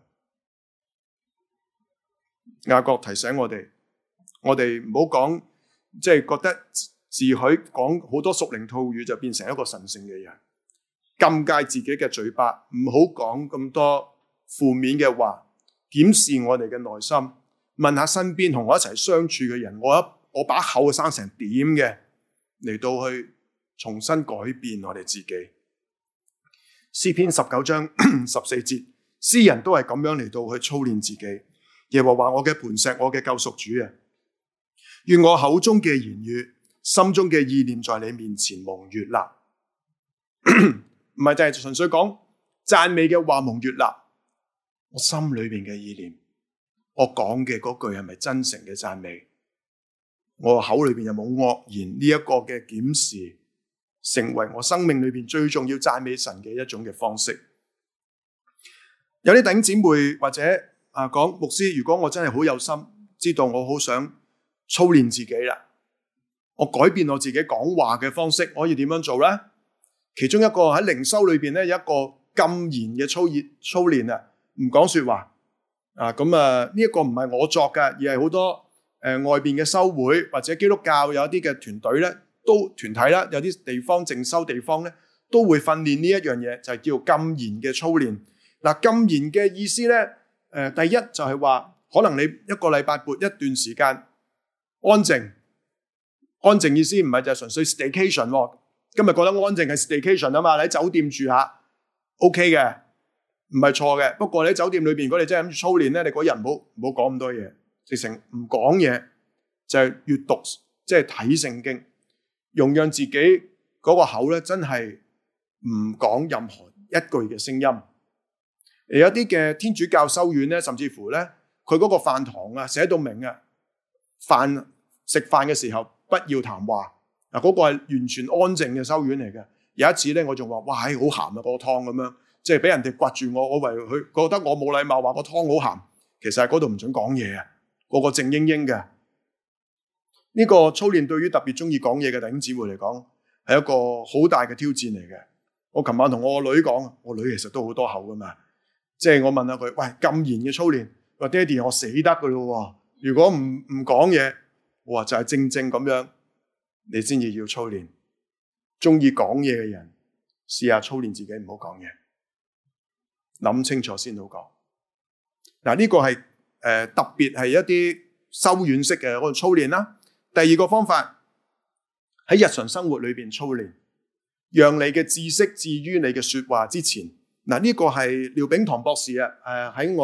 雅各提醒我哋，我哋唔好講，即係覺得自許講好多屬靈套語就變成一個神聖嘅人。禁戒自己嘅嘴巴，唔好講咁多負面嘅話，檢視我哋嘅內心，問下身邊同我一齊相處嘅人，我一我把口生成點嘅，嚟到去重新改變我哋自己。詩篇十九章十四節，詩人都係咁樣嚟到去操練自己。耶和華我嘅磐石，我嘅救贖主啊，願我口中嘅言語，心中嘅意念，在你面前蒙悅納。唔係就係純粹講讚美嘅話蒙悅納，我心裏邊嘅意念，我講嘅嗰句係咪真誠嘅讚美？我口裏邊有冇惡言？呢一個嘅檢視，成為我生命裏邊最重要讚美神嘅一種嘅方式。有啲弟兄姊妹或者啊講牧師，如果我真係好有心，知道我好想操練自己啦，我改變我自己講話嘅方式，可以點樣做咧？其中一個喺靈修裏邊咧，有一個禁言嘅操練操練啊，唔講說話啊。咁啊呢一個唔係我作嘅，而係好多誒、呃、外邊嘅修會或者基督教有一啲嘅團隊咧，都團體啦，有啲地方靜修地方咧，都會訓練呢一樣嘢，就係、是、叫禁言嘅操練。嗱、啊，禁言嘅意思咧，誒、呃，第一就係話，可能你一個禮拜撥一段時間安靜，安靜意思唔係就係純粹 staycation 喎。今日覺得安靜係 staycation 啊嘛，你喺酒店住下 OK 嘅，唔係錯嘅。不過你喺酒店裏邊，如果你真係諗住操練咧，你嗰日唔好唔好講咁多嘢，直情唔講嘢，就係、是、閱讀，即係睇聖經，容讓自己嗰個口咧真係唔講任何一句嘅聲音。有一啲嘅天主教修院咧，甚至乎咧，佢嗰個飯堂啊寫到明啊，飯食飯嘅時候不要談話。嗱，嗰個係完全安靜嘅修院嚟嘅。有一次咧，我仲話：哇，好鹹啊！嗰個湯咁樣，即係俾人哋掘住我，我為佢覺得我冇禮貌，話個湯好鹹。其實喺嗰度唔准講嘢啊，個個靜英英嘅。呢個操練對於特別中意講嘢嘅弟兄姊妹嚟講，係一個好大嘅挑戰嚟嘅。我琴晚同我個女講，我女其實都好多口噶嘛，即係我問下佢：喂，禁言嘅操練，話爹哋我死得噶咯，如果唔唔講嘢，我話就係正正咁樣。你先至要操練，中意講嘢嘅人，試下操練自己唔好講嘢，諗清楚先好講。嗱，呢個係誒、呃、特別係一啲修院式嘅嗰個操練啦。第二個方法喺日常生活裏邊操練，讓你嘅知識置於你嘅說話之前。嗱，呢個係廖炳棠博士啊，誒喺我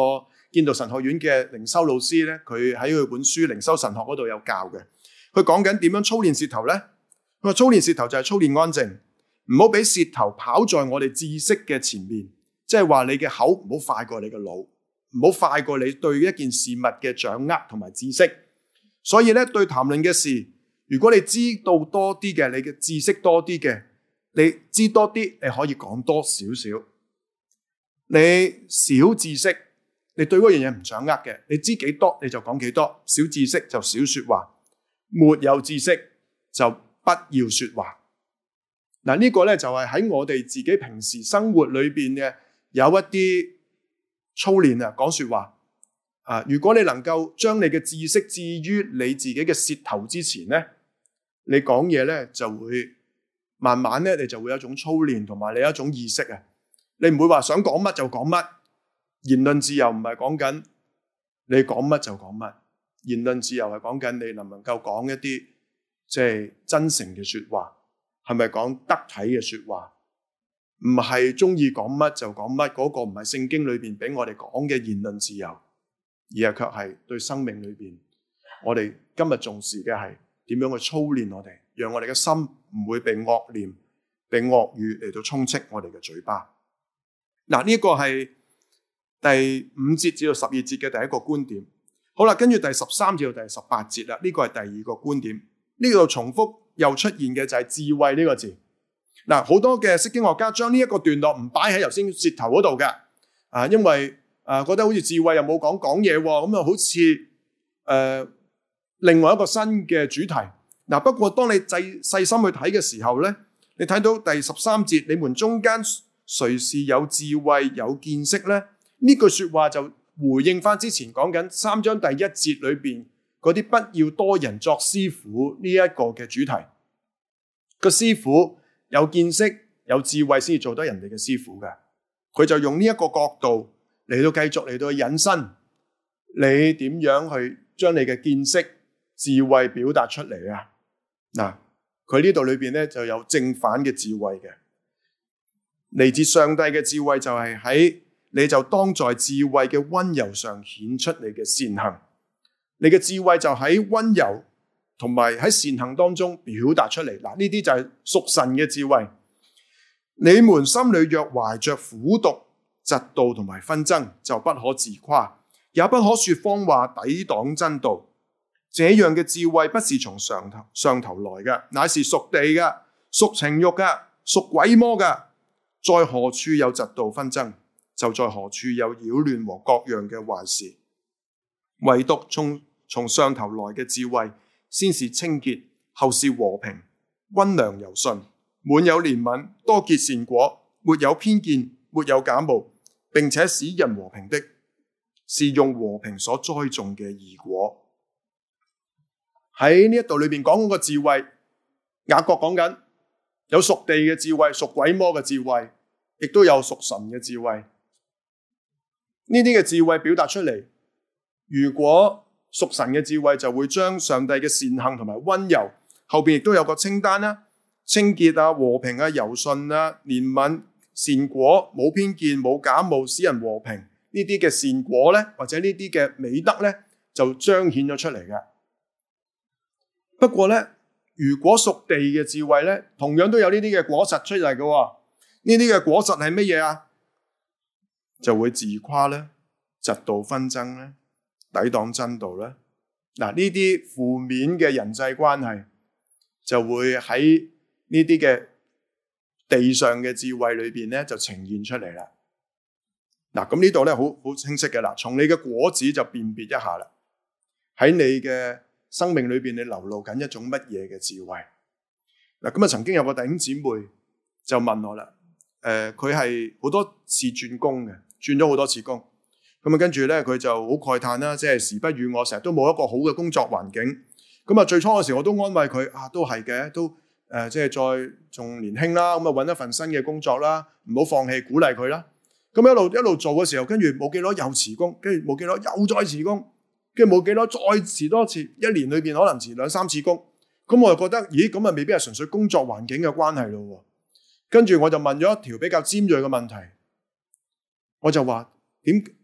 建道神學院嘅靈修老師咧，佢喺佢本書《靈修神學》嗰度有教嘅。佢講緊點樣操練舌頭咧？佢話操練舌頭就係操練安靜，唔好俾舌頭跑在我哋知識嘅前面，即係話你嘅口唔好快過你嘅腦，唔好快過你對一件事物嘅掌握同埋知識。所以咧，對談論嘅事，如果你知道多啲嘅，你嘅知識多啲嘅，你知多啲，你可以講多少少。你少知識，你對嗰樣嘢唔掌握嘅，你知幾多你就講幾多。少知識就少說話，沒有知識就不要說話。嗱，呢個咧就係喺我哋自己平時生活裏邊嘅有一啲操練啊，講說話啊。如果你能夠將你嘅知識置於你自己嘅舌頭之前咧，你講嘢咧就會慢慢咧，你就會有一種操練同埋你有一種意識啊。你唔會話想講乜就講乜。言論自由唔係講緊你講乜就講乜，言論自由係講緊你能唔能夠講一啲即係真誠嘅說話，係咪講得體嘅說話？唔係中意講乜就講乜，嗰個唔係聖經裏邊俾我哋講嘅言論自由，而係卻係對生命裏邊我哋今日重視嘅係點樣去操練我哋，讓我哋嘅心唔會被惡念、被惡語嚟到充斥我哋嘅嘴巴。嗱，呢個係第五節至到十二節嘅第一個觀點。好啦，跟住第十三至到第十八節啦，呢個係第二個觀點。呢度重複又出現嘅就係智慧呢個字。嗱，好多嘅釋經學家將呢一個段落唔擺喺頭先舌頭嗰度嘅，啊，因為啊覺得好似智慧又冇講講嘢喎，咁啊好似誒、呃、另外一個新嘅主題。嗱，不過當你細細心去睇嘅時候咧，你睇到第十三節，你們中間誰是有智慧有見識咧？呢句說話就回應翻之前講緊三章第一節裏邊嗰啲不要多人作師傅呢一個嘅主題。個師傅有見識有智慧先至做得人哋嘅師傅嘅，佢就用呢一個角度嚟到繼續嚟到引申，你點樣去將你嘅見識智慧表達出嚟啊？嗱，佢呢度裏邊咧就有正反嘅智慧嘅。嚟自上帝嘅智慧就係喺你就當在智慧嘅溫柔上顯出你嘅善行，你嘅智慧就喺溫柔同埋喺善行當中表達出嚟。嗱，呢啲就係屬神嘅智慧。你們心裏若懷着苦毒、嫉妒同埋紛爭，就不可自誇，也不可說謊話抵擋真道。這樣嘅智慧不是從上頭上頭來嘅，乃是屬地嘅、屬情慾嘅、屬鬼魔嘅。在何處有嫉妒紛爭，就在何處有擾亂和各樣嘅壞事。唯獨從從上頭來嘅智慧，先是清潔，後是和平，溫良柔順，滿有憐憫，多結善果，沒有偏見，沒有假冒，並且使人和平的，是用和平所栽種嘅義果。喺呢一度裏邊講嗰個智慧，雅各講緊。有屬地嘅智慧，屬鬼魔嘅智慧，亦都有屬神嘅智慧。呢啲嘅智慧表達出嚟，如果屬神嘅智慧就會將上帝嘅善行同埋溫柔，後邊亦都有個清單啦，清潔啊、和平啊、柔順啊、憐憫、善果、冇偏見、冇假冒、使人和平，呢啲嘅善果咧，或者呢啲嘅美德咧，就彰顯咗出嚟嘅。不過咧，如果屬地嘅智慧咧，同樣都有呢啲嘅果實出嚟嘅。呢啲嘅果實係乜嘢啊？就會自誇咧，嫉妒紛爭咧，抵擋真道咧。嗱，呢啲負面嘅人際關係就會喺呢啲嘅地上嘅智慧裏邊咧，就呈現出嚟啦。嗱，咁呢度咧好好清晰嘅啦，從你嘅果子就辨別一下啦。喺你嘅生命裏邊，你流露緊一種乜嘢嘅智慧？嗱，咁啊，曾經有個弟兄姊妹就問我啦，誒、呃，佢係好多次轉工嘅，轉咗好多次工，咁啊，跟住咧佢就好慨嘆啦，即係時不與我，成日都冇一個好嘅工作環境。咁啊，最初嘅時候我都安慰佢，啊，都係嘅，都誒、呃，即係再仲年輕啦，咁啊，揾一份新嘅工作啦，唔好放棄，鼓勵佢啦。咁一路一路做嘅時候，跟住冇幾耐又辭工，跟住冇幾耐又再辭工。跟住冇幾耐再辭多次，一年裏邊可能辭兩三次工，咁我就覺得，咦，咁啊未必係純粹工作環境嘅關係咯。跟住我就問咗一條比較尖銳嘅問題，我就話點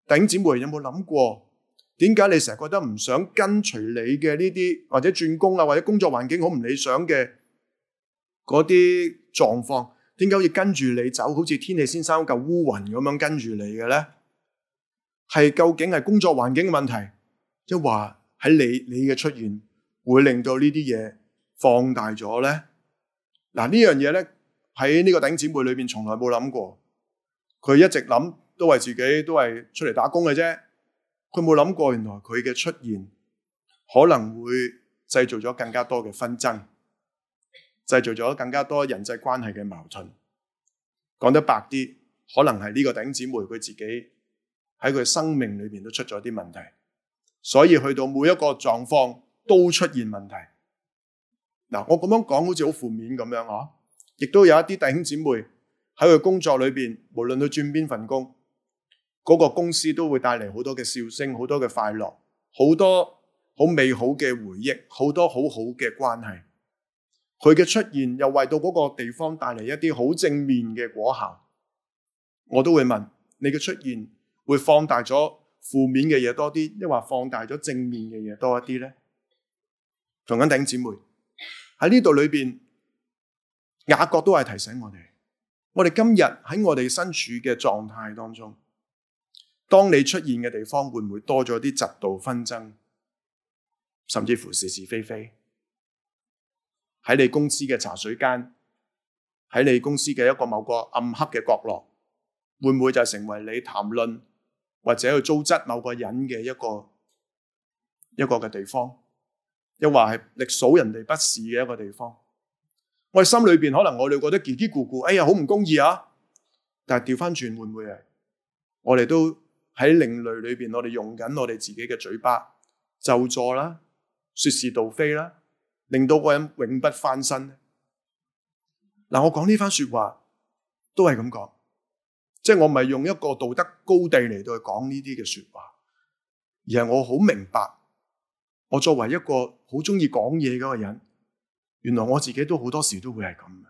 弟兄姊妹有冇諗過，點解你成日覺得唔想跟隨你嘅呢啲，或者轉工啊，或者工作環境好唔理想嘅嗰啲狀況，點解好似跟住你走，好似天氣先生嚿烏雲咁樣跟住你嘅咧？係究竟係工作環境嘅問題，即係話喺你你嘅出現會令到呢啲嘢放大咗咧？嗱，呢樣嘢咧喺呢個弟兄姊妹裏邊從來冇諗過，佢一直諗都係自己都係出嚟打工嘅啫，佢冇諗過原來佢嘅出現可能會製造咗更加多嘅紛爭，製造咗更加多人際關係嘅矛盾。講得白啲，可能係呢個弟兄姊妹佢自己喺佢生命裏邊都出咗啲問題，所以去到每一個狀況都出現問題。嗱，我咁樣講好似好負面咁樣嗬，亦都有一啲弟兄姊妹喺佢工作裏邊，無論佢轉邊份工，嗰個公司都會帶嚟好多嘅笑聲，好多嘅快樂，好多好美好嘅回憶，好多好好嘅關係。佢嘅出現又為到嗰個地方帶嚟一啲好正面嘅果效。我都會問，你嘅出現會放大咗負面嘅嘢多啲，抑或放大咗正面嘅嘢多一啲呢？同緊弟兄姊妹喺呢度裏邊，雅各都係提醒我哋，我哋今日喺我哋身處嘅狀態當中，當你出現嘅地方會唔會多咗啲嫉妒紛爭，甚至乎是是非非？喺你公司嘅茶水間，喺你公司嘅一個某個暗黑嘅角落，會唔會就成為你談論或者去糟質某個人嘅一個一個嘅地方？又話係歷數人哋不是嘅一個地方？我哋心裏邊可能我哋覺得嘰嘰咕咕，哎呀好唔公義啊！但係調翻轉會唔會係我哋都喺另類裏邊，我哋用緊我哋自己嘅嘴巴咒詛啦、說是道非啦，令到個人永不翻身咧？嗱，我講呢番說話都係咁講，即係我唔係用一個道德高地嚟到去講呢啲嘅說話，而係我好明白，我作為一個好中意講嘢嗰個人，原來我自己都好多時都會係咁嘅。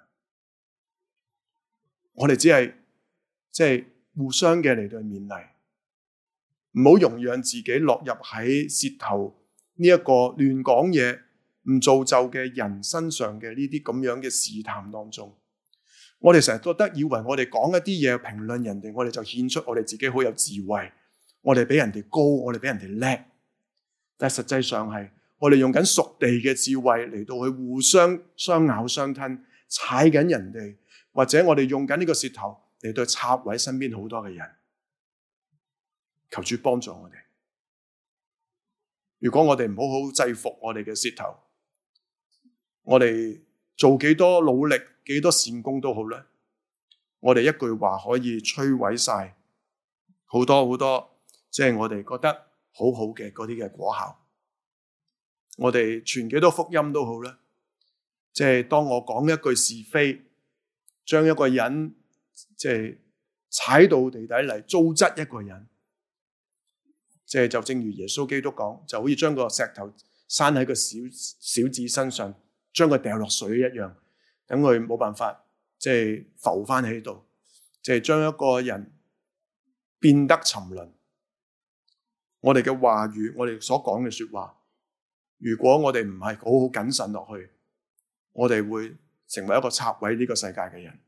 我哋只係即係互相嘅嚟到去勉勵，唔好容讓自己落入喺舌頭呢一個亂講嘢唔造就嘅人身上嘅呢啲咁樣嘅試探當中。我哋成日覺得以為我哋講一啲嘢評論人哋，我哋就顯出我哋自己好有智慧，我哋比人哋高，我哋比人哋叻。但係實際上係我哋用緊屬地嘅智慧嚟到去互相相咬相吞，踩緊人哋，或者我哋用緊呢個舌頭嚟到插毀身邊好多嘅人。求主幫助我哋。如果我哋唔好好制服我哋嘅舌頭，我哋做幾多努力，幾多善功都好咧，我哋一句話可以摧毀晒好多好多，即係我哋覺得好好嘅嗰啲嘅果效。我哋傳幾多福音都好啦，即係當我講一句是非，將一個人即係踩到地底嚟糟質一個人，即係就正如耶穌基督講，就好似將個石頭閂喺個小小子身上，將佢掉落水一樣，等佢冇辦法即係浮翻喺度，即係將一個人變得沉淪。我哋嘅話語，我哋所講嘅說話，如果我哋唔係好好謹慎落去，我哋會成為一個拆毀呢個世界嘅人。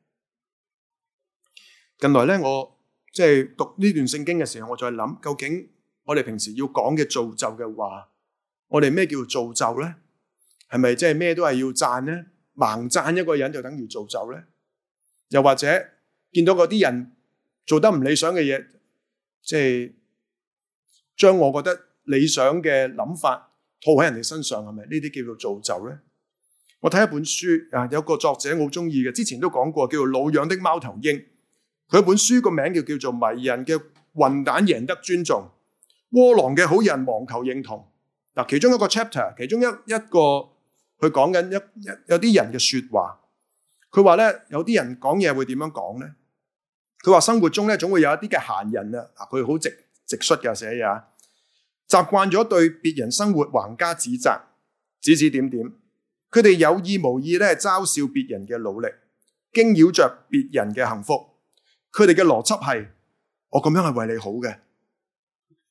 近來咧，我即係讀呢段聖經嘅時候，我再諗，究竟我哋平時要講嘅造就嘅話，我哋咩叫造就咧？係咪即係咩都係要讚咧？盲讚一個人就等於造就咧？又或者見到嗰啲人做得唔理想嘅嘢，即係將我覺得理想嘅諗法套喺人哋身上，係咪呢啲叫做造就咧？我睇一本書啊，有個作者我好中意嘅，之前都講過，叫做《老養的貓頭鷹》。佢本書個名叫叫做《迷人嘅混蛋贏得尊重，窩囊嘅好人妄求認同》。嗱，其中一個 chapter， 其中一一個佢講緊一一有啲人嘅說話。佢話咧，有啲人講嘢會點樣講咧？佢話生活中咧總會有一啲嘅閒人啊，佢好直直率嘅寫嘢啊。習慣咗對別人生活橫加指責，指指點點。佢哋有意無意咧嘲笑別人嘅努力，驚擾着別人嘅幸福。佢哋嘅邏輯係：我咁樣係為你好嘅，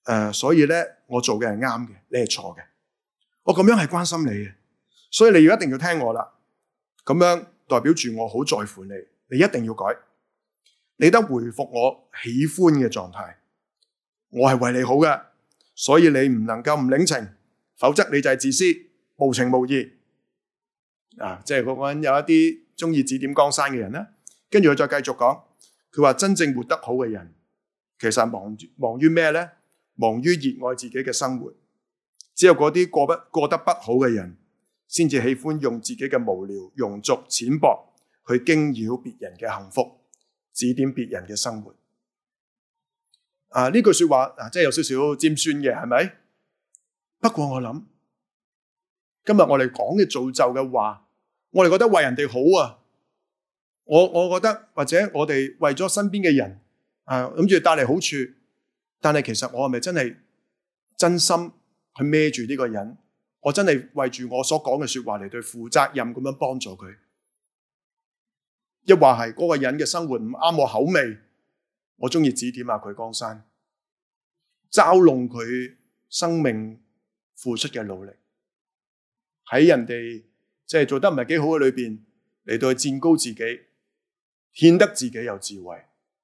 呃，所以咧我做嘅係啱嘅，你係錯嘅。我咁樣係關心你嘅，所以你要一定要聽我啦。咁樣代表住我好在乎你，你一定要改。你得回復我喜歡嘅狀態，我係為你好嘅，所以你唔能夠唔領情，否則你就係自私、無情無義。啊，即係嗰個人有一啲中意指點江山嘅人咧，跟住佢再繼續講，佢話真正活得好嘅人，其實忙忙於咩咧？忙於熱愛自己嘅生活。只有嗰啲過不過得不好嘅人，先至喜歡用自己嘅無聊、庸俗、淺薄去驚擾別人嘅幸福，指點別人嘅生活。啊，呢句說話啊，真係有少少尖酸嘅，係咪？不過我諗，今日我哋講嘅造就嘅話，我哋覺得為人哋好啊。我我覺得或者我哋為咗身邊嘅人啊，諗住帶嚟好處，但係其實我係咪真係真心去孭住呢個人？我真係為住我所講嘅說話嚟對負責任咁樣幫助佢？一話係嗰個人嘅生活唔啱我口味，我中意指點下佢江山，嘲弄佢生命付出嘅努力，喺人哋即係做得唔係幾好嘅裏邊嚟到去墊高自己，顯得自己有智慧。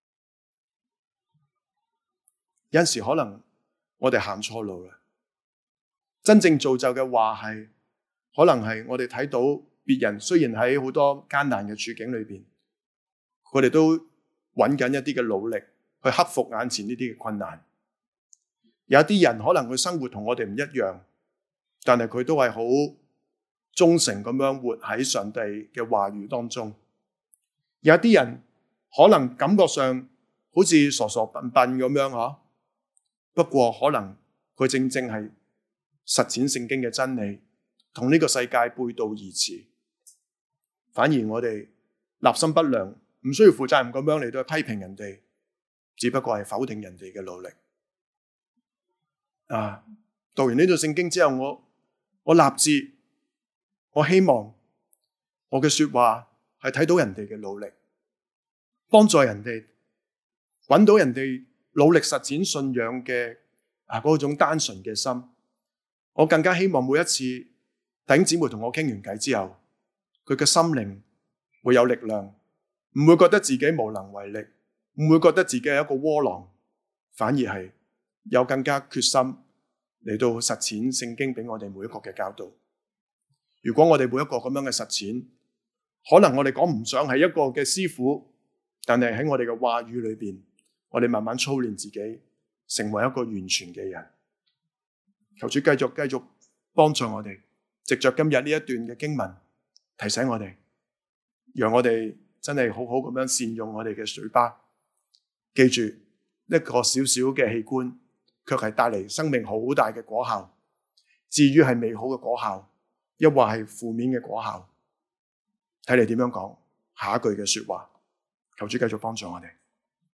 有陣時可能我哋行錯路啦。真正造就嘅話係，可能係我哋睇到別人雖然喺好多艱難嘅處境裏邊，佢哋都揾緊一啲嘅努力去克服眼前呢啲嘅困難。有啲人可能佢生活同我哋唔一樣，但係佢都係好忠誠咁樣活喺上帝嘅話語當中。有啲人可能感覺上好似傻傻笨笨咁樣嗬，不過可能佢正正係實踐聖經嘅真理，同呢個世界背道而馳。反而我哋立心不良，唔需要負責任咁樣嚟到批評人哋，只不過係否定人哋嘅努力。啊！讀完呢段聖經之後，我我立志，我希望我嘅說話係睇到人哋嘅努力，幫助人哋揾到人哋努力實踐信仰嘅啊嗰種單純嘅心。我更加希望每一次弟兄姊妹同我傾完偈之後，佢嘅心靈會有力量，唔會覺得自己無能為力，唔會覺得自己係一個窩囊，反而係有更加決心嚟到實踐聖經俾我哋每一個嘅教導。如果我哋每一個咁樣嘅實踐，可能我哋講唔上係一個嘅師傅，但係喺我哋嘅話語裏邊，我哋慢慢操練自己，成為一個完全嘅人。求主繼續繼續幫助我哋，藉着今日呢一段嘅經文提醒我哋，讓我哋真係好好咁樣善用我哋嘅嘴巴。記住，一個小小嘅器官，卻係帶嚟生命好大嘅果效。至於係美好嘅果效，抑或係負面嘅果效，睇你點樣講下一句嘅說話。求主繼續幫助我哋。